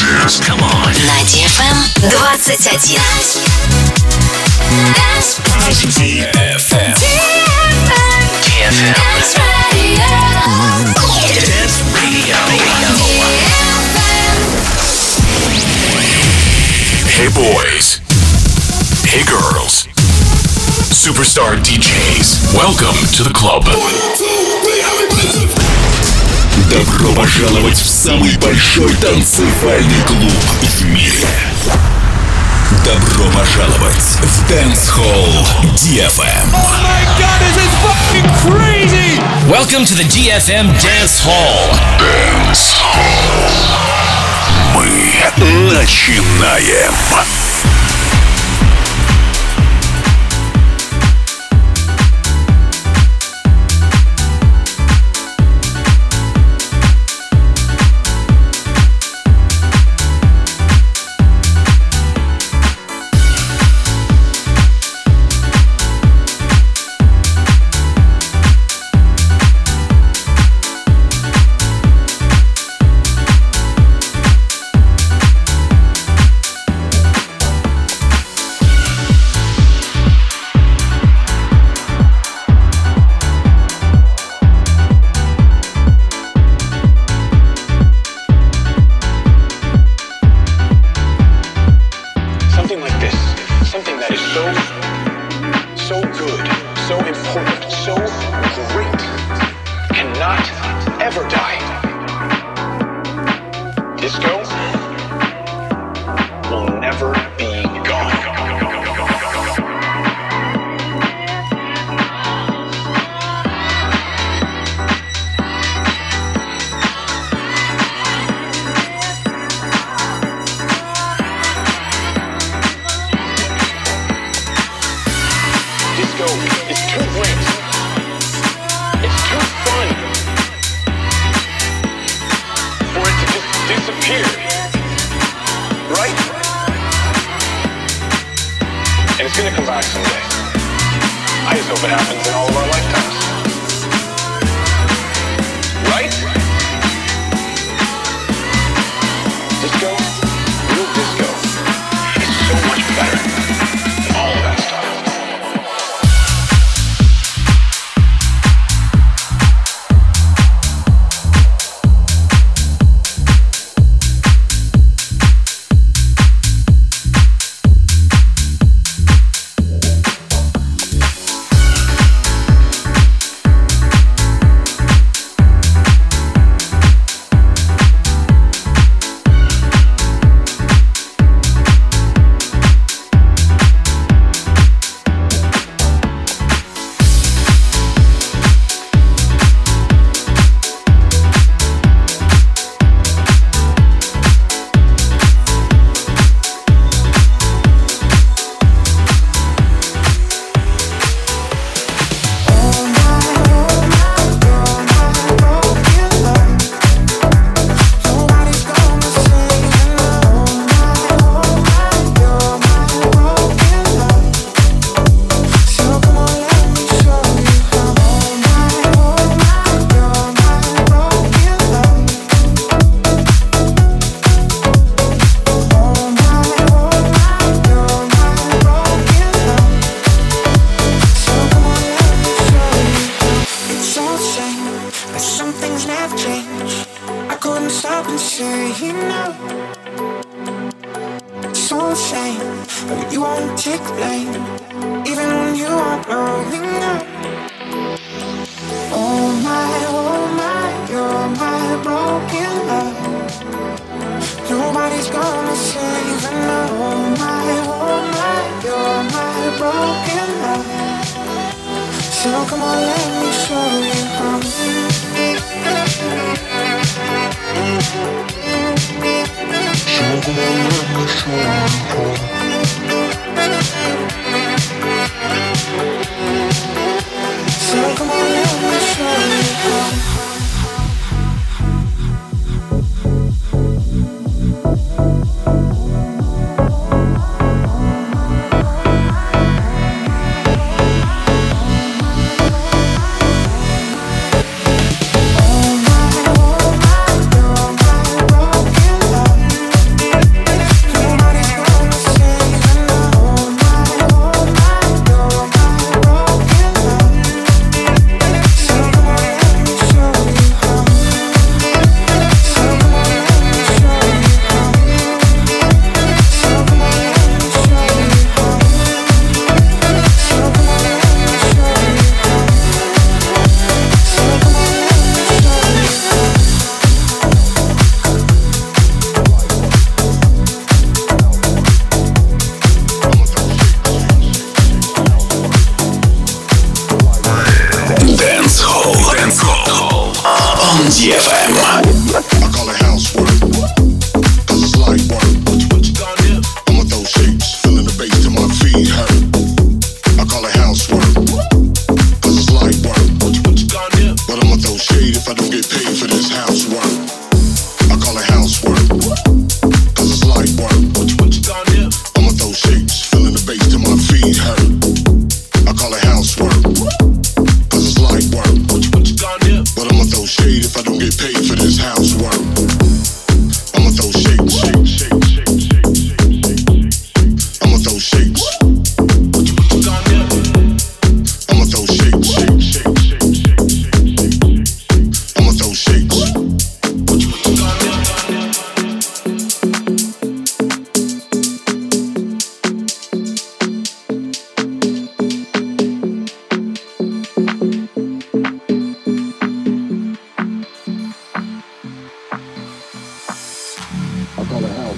Come on. На DFM 21. DFM. Dance Radio. Hey boys. Hey girls. Superstar DJs. Welcome to the club. Добро пожаловать в самый большой танцевальный клуб в мире. Добро пожаловать в Dance Hall DFM. Oh my god, this is fucking crazy! Welcome to the DFM Dance Hall. Dance Hall. Мы начинаем.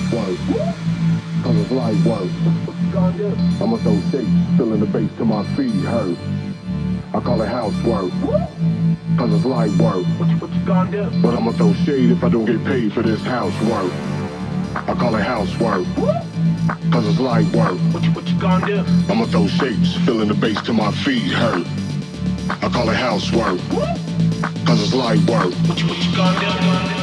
work, cause it's light work. I'ma throw shapes, feeling the bass till my feet hurt. I call it housework, cause it's light work. What you gonna do? But I'ma throw shade if I don't get paid for this housework. I call it housework, cause it's light work. What you gonna do? I'ma throw shapes, feeling the bass till my feet hurt. I call it housework, cause it's light work. What you gonna do?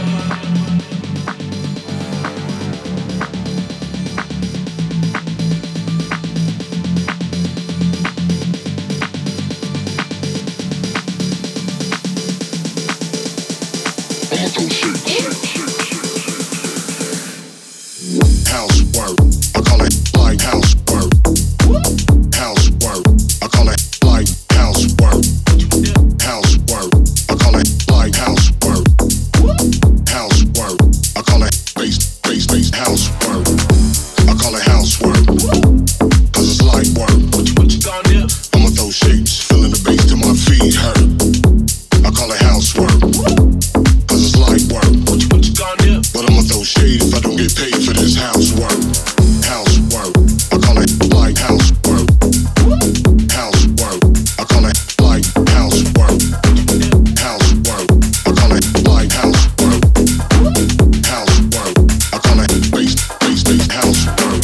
Housework, I call it light housework. Housework, I call it light housework. Housework, I call it light housework. Housework, I call it bass housework. I call it housework, cause it's light work. What you gonna do? I'ma throw shapes, feeling the bass till my feet hurt. I call it housework, cause it's light work. What you gonna do? But I'ma throw shade if I don't get paid for this housework. Housework, I call it light housework. Housework, I call it light housework. Housework, I call it light housework. Housework, I call it bass housework.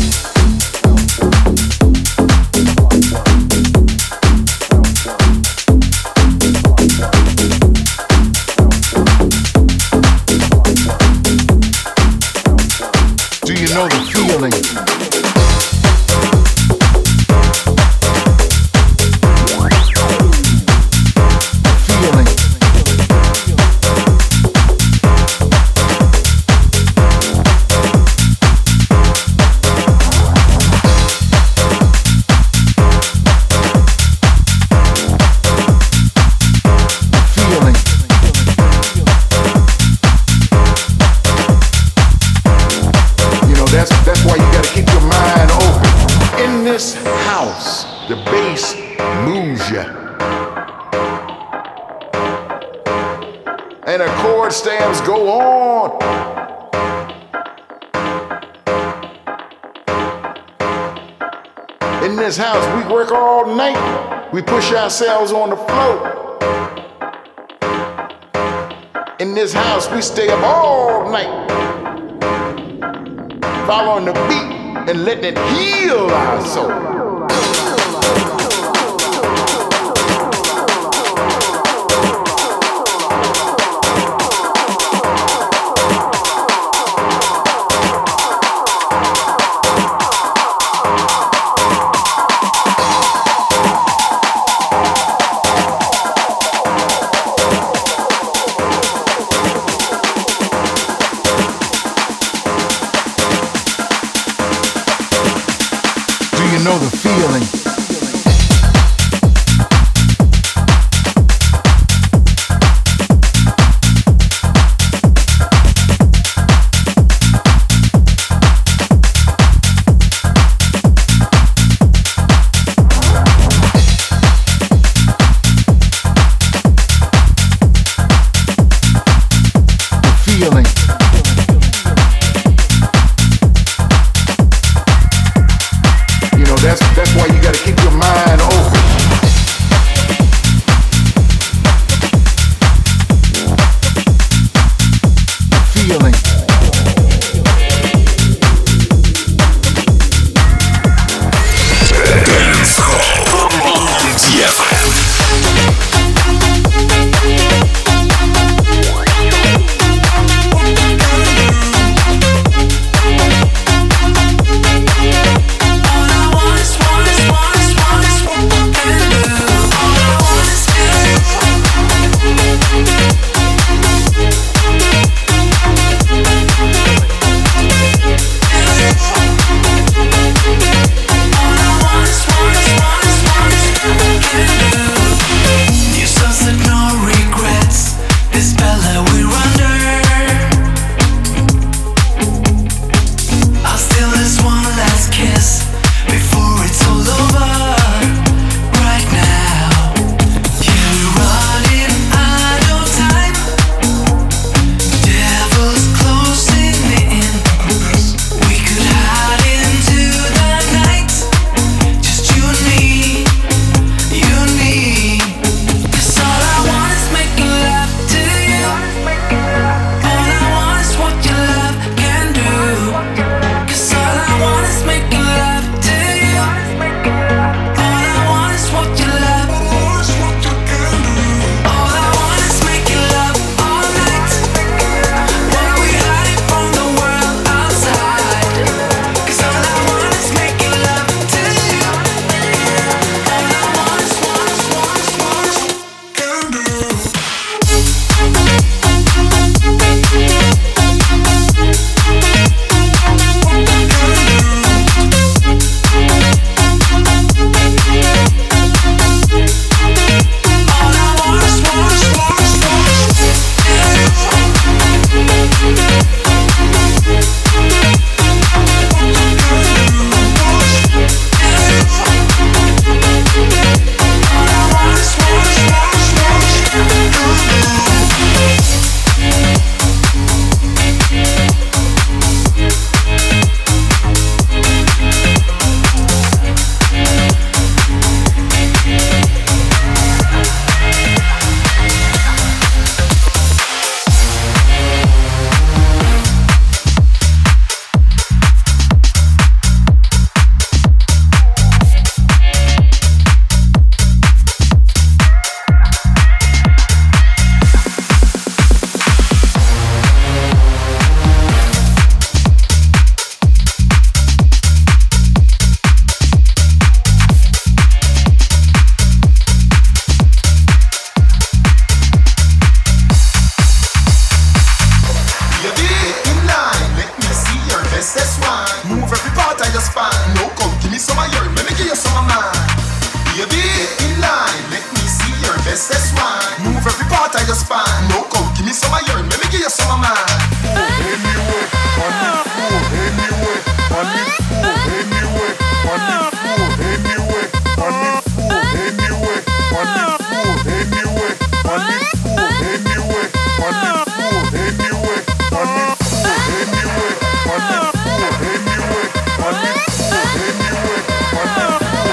Do you know the feeling? That's why you gotta keep your mind open. In this house, the bass moves ya, and the chord stamps go on. In this house, we work all night. We push ourselves on the floor. In this house, we stay up all night, following the beat and letting it heal our soul. You know the feeling. That's why you gotta keep spine. No, come give me some of your, let me give you some of mine. Baby, in line, let me see your bestest wine. Move every part of your spine. No, come give me some of your, let me give you some of mine. Anyway, on the floor, anyway, on the floor, anyway, on the floor, anyway, on the floor, anyway, on the floor, anyway, on the floor, anyway, on the floor, anyway, on the floor, anyway, on the floor, anyway, on the floor, anyway, on the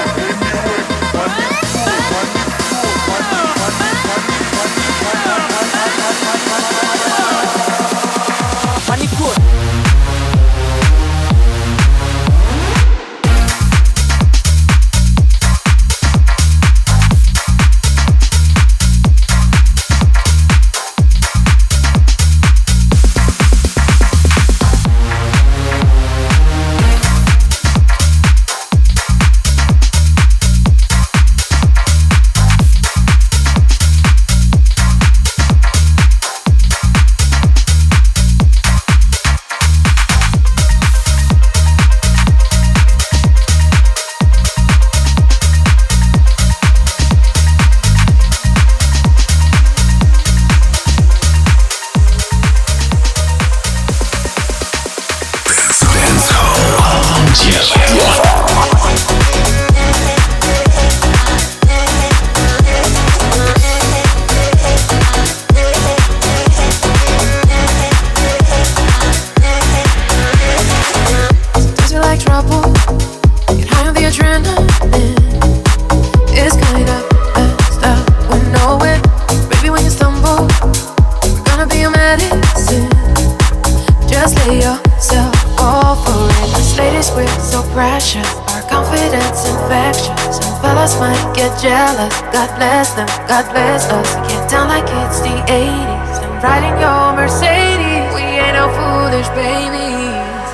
God bless them, God bless us. Get down like it's the 80s and riding your Mercedes. We ain't no foolish babies.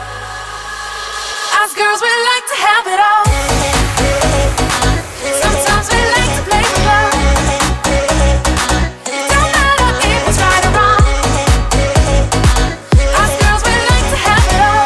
Us girls, we like to have it all. Sometimes we like to play with love. It don't matter if it's right or wrong. Us girls, we like to have it all.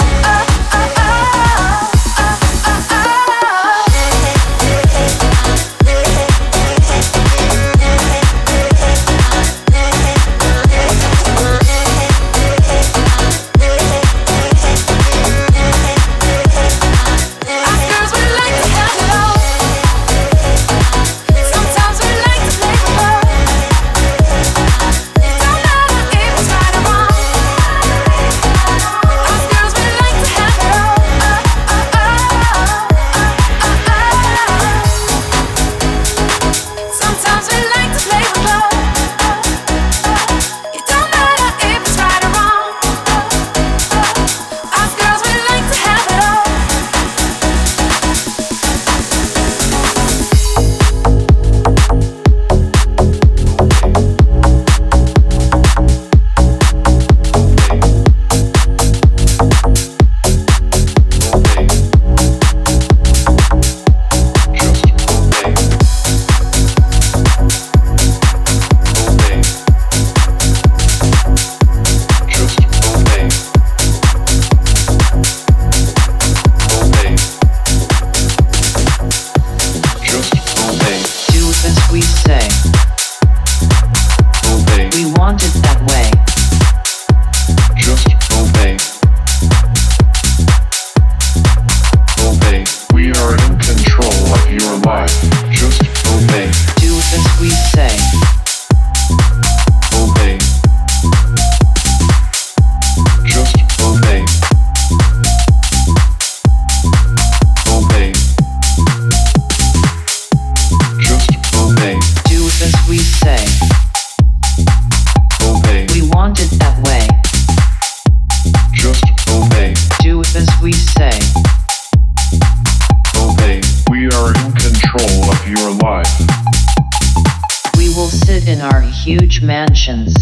huge mansions.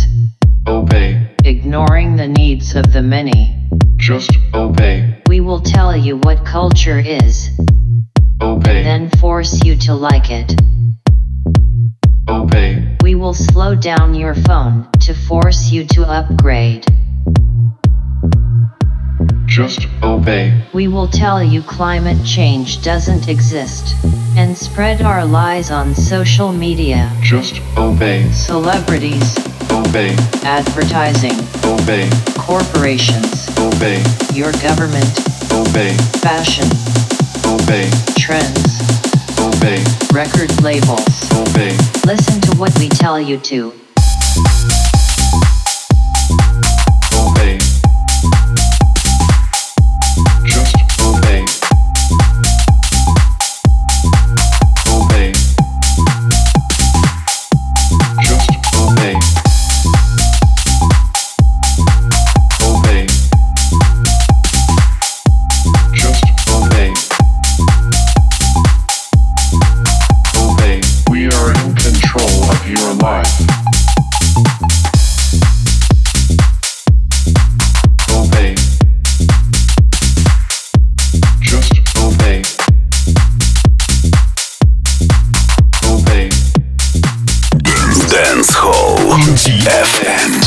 Obey. Ignoring the needs of the many. Just obey. We will tell you what culture is. Obey. Then force you to like it. Obey. We will slow down your phone to force you to upgrade. Just obey. We will tell you climate change doesn't exist. And spread our lies on social media. Just obey. Celebrities. Obey. Advertising. Obey. Corporations. Obey. Your government. Obey. Fashion. Obey. Trends. Obey. Record labels. Obey. Listen to what we tell you to. Obey. Just obey. Obey. Just obey. Obey. Just obey. Obey. We are in control of your life. Obey. Just obey. Obey. Dance Hall DFM.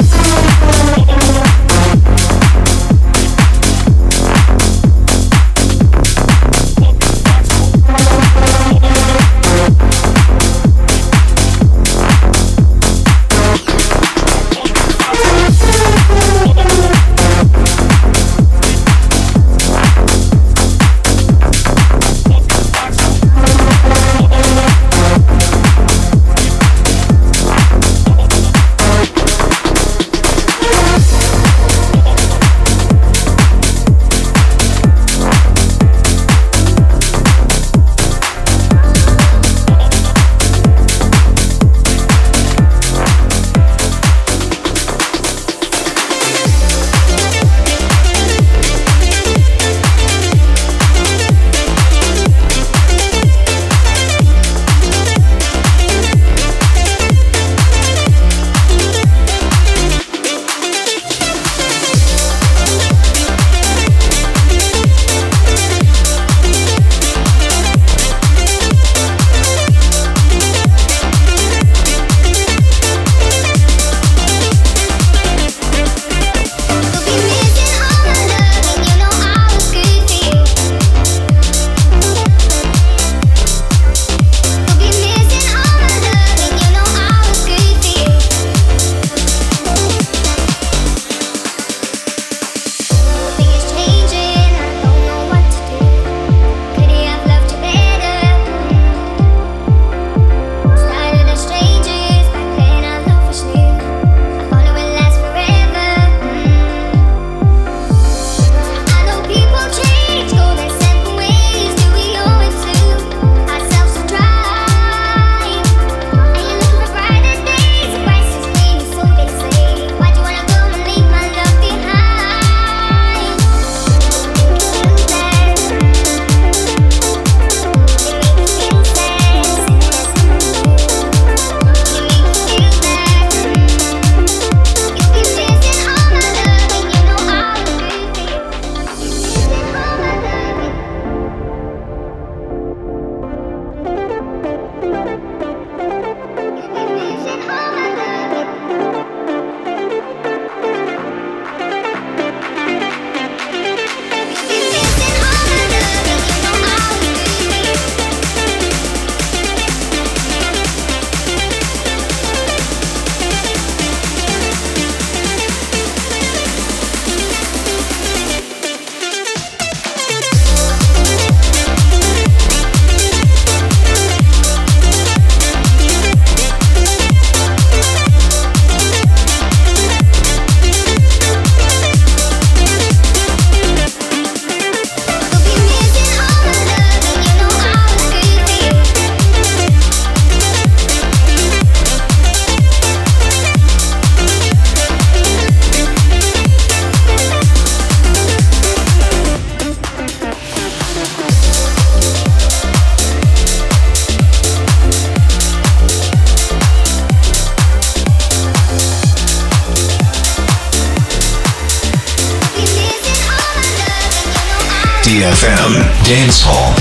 DFM Dance Hall.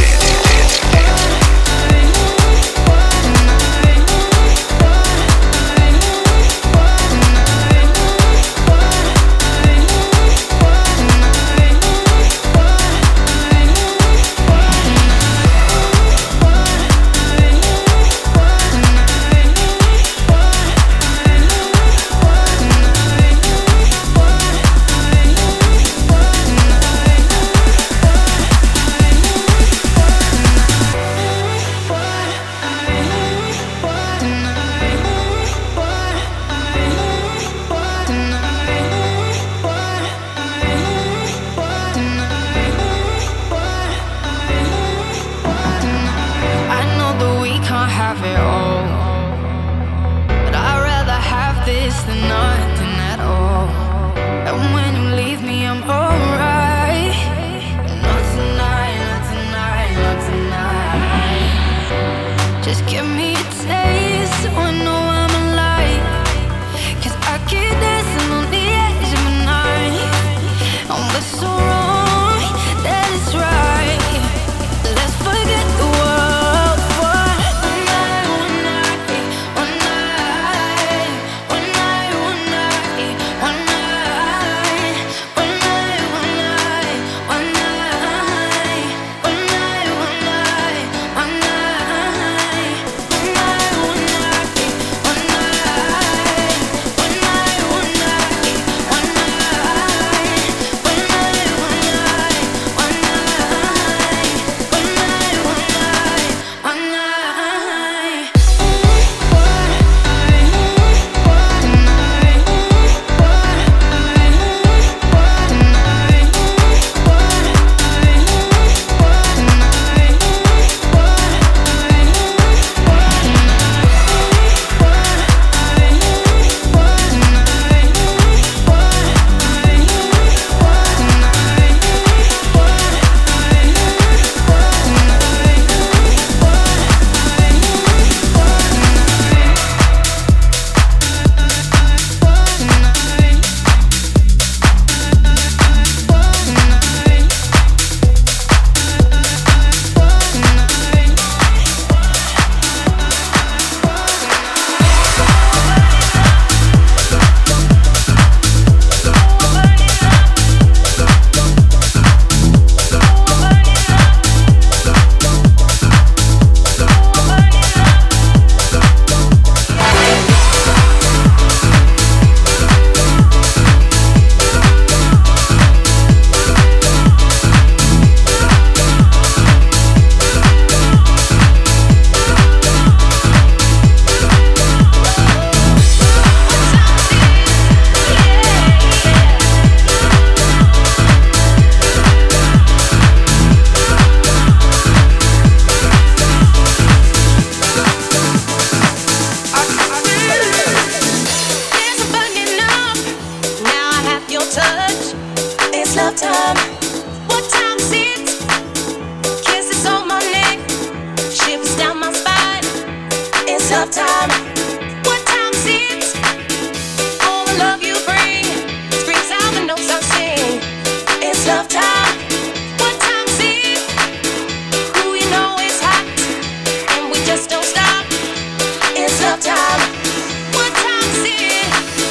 love time. What time is it? Kisses on my neck, shivers down my spine. It's love time. What time is it? All the love you bring screams out the notes I sing. It's love time. What time is it? Who you know is hot, and we just don't stop. It's love time. What time is it?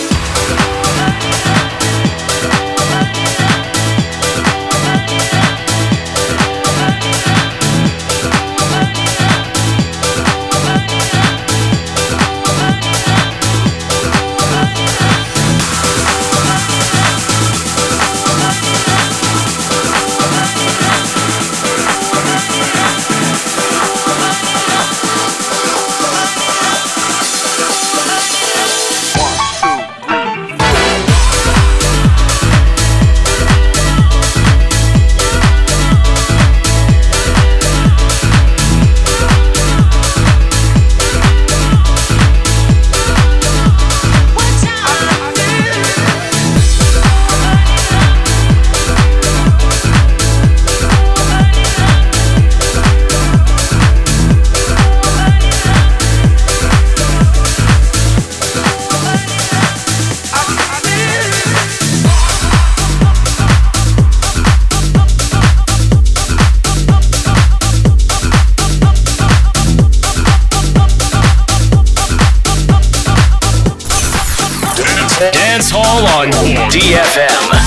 Dance Hall on DFM.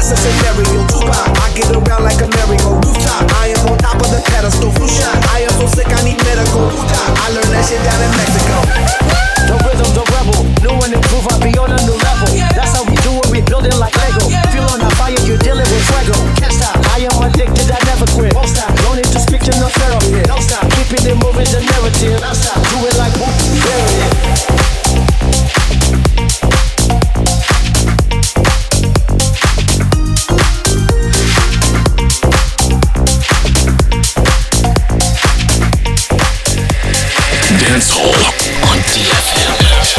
that's a scenario. Tupac, I get around like a merry-go rooftop. I am on top of the pedestal, flu shot. I am so sick, I need medical. I learned that shit down in Mexico. The rhythm, the rebel, new and improve, I'll be on a new level. That's how we do it, we build it like Lego. Feel on our fire, you're dealing with fuego. Can't stop, I am addicted, I never quit. Won't stop, don't need to speak to no therapy. Don't stop, keeping it moving, the narrative. Don't stop, do it like whoop, bury it. Dancehall on DFM.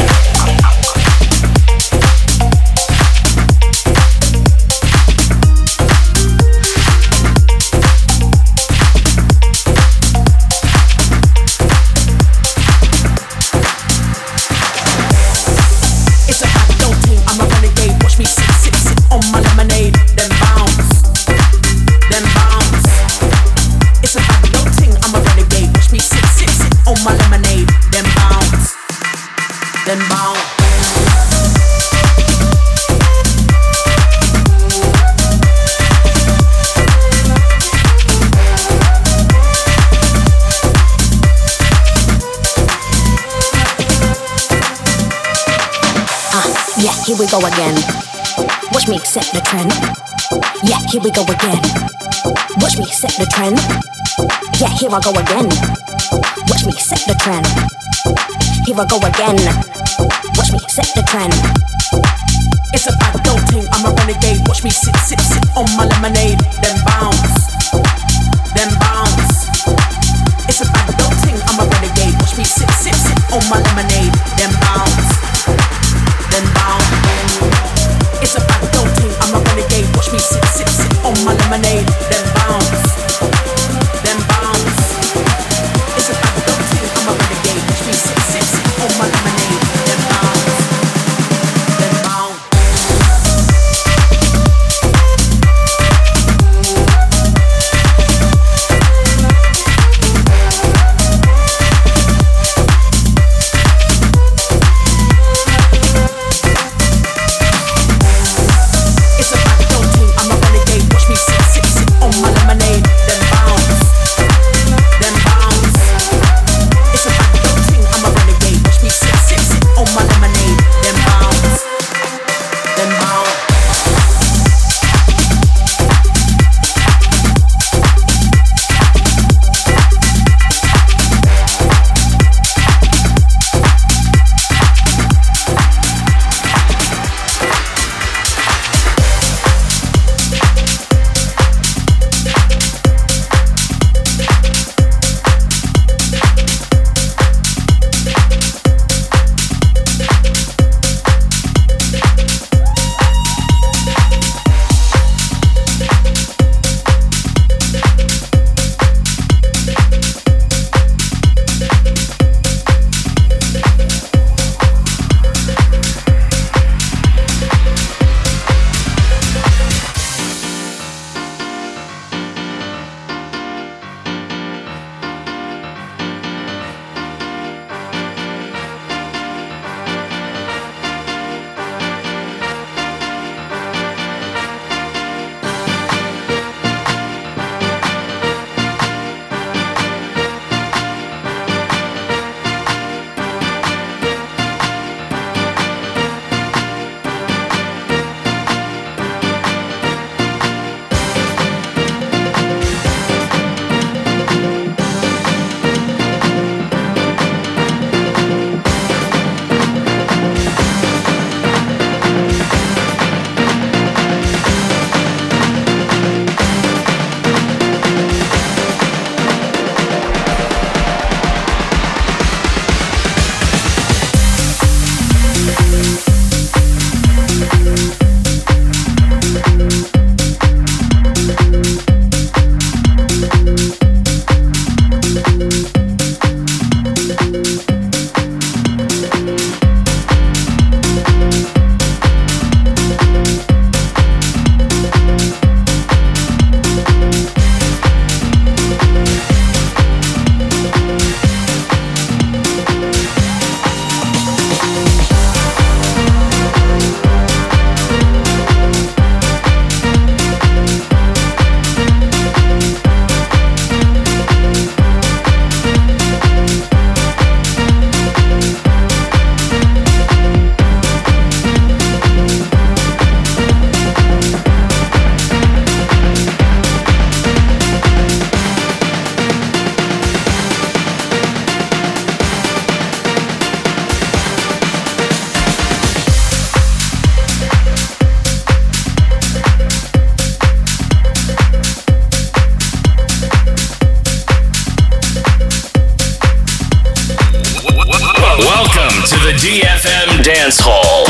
Here we go again. Watch me set the trend. Yeah, here we go again. Watch me set the trend. Yeah, here I go again. Watch me set the trend. Here I go again. Watch me set the trend. It's a bad girl thing, I'm a renegade. Watch me sit on my lemonade. Then bounce, then bounce. It's a bad girl thing, I'm a renegade. Watch me sit on my lemonade. Then bounce, then bounce. It's a bad girl thing, I'm a renegade. Watch me sit on my lemonade. Then bounce, then bounce. It's a bad girl thing, I'm a renegade. Watch me sit on my lemonade. Then bounce, then bounce. Dance Hall.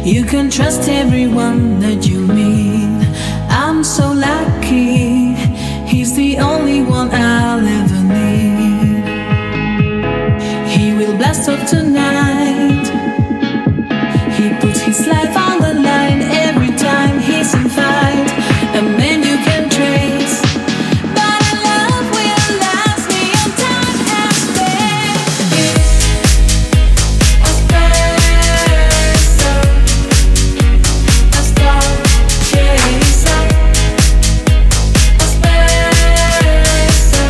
You can trust everyone that you meet. I'm so lucky. He's the only one I'll ever need. He will blast off tonight. He puts his life on the line every time he's in fight. A man you can trace, but a love will last beyond time and space. A special, a star chaser. A special.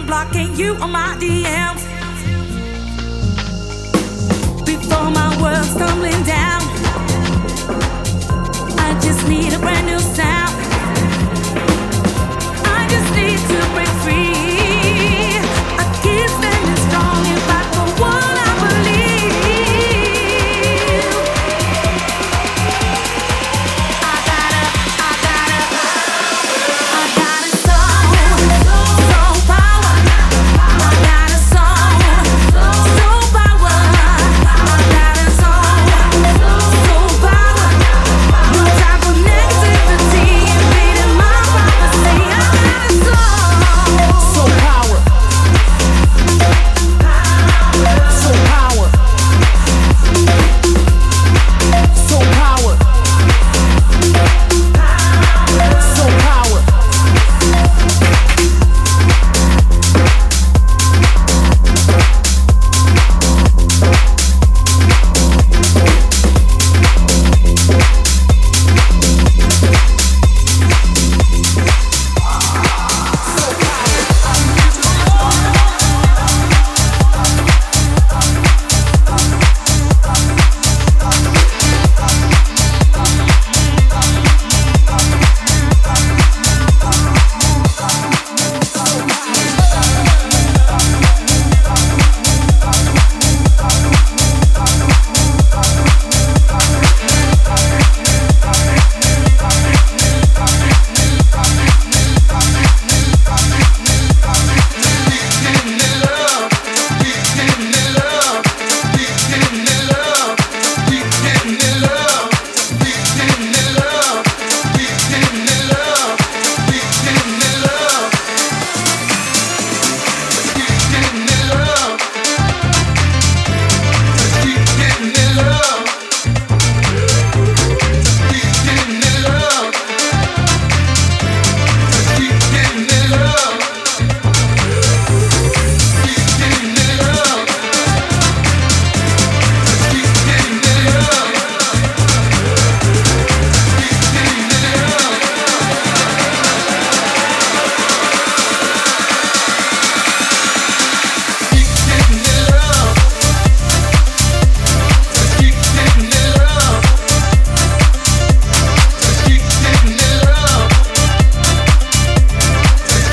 I'm blocking you on my DMs. Before my world's tumbling down, I just need a brand new sound.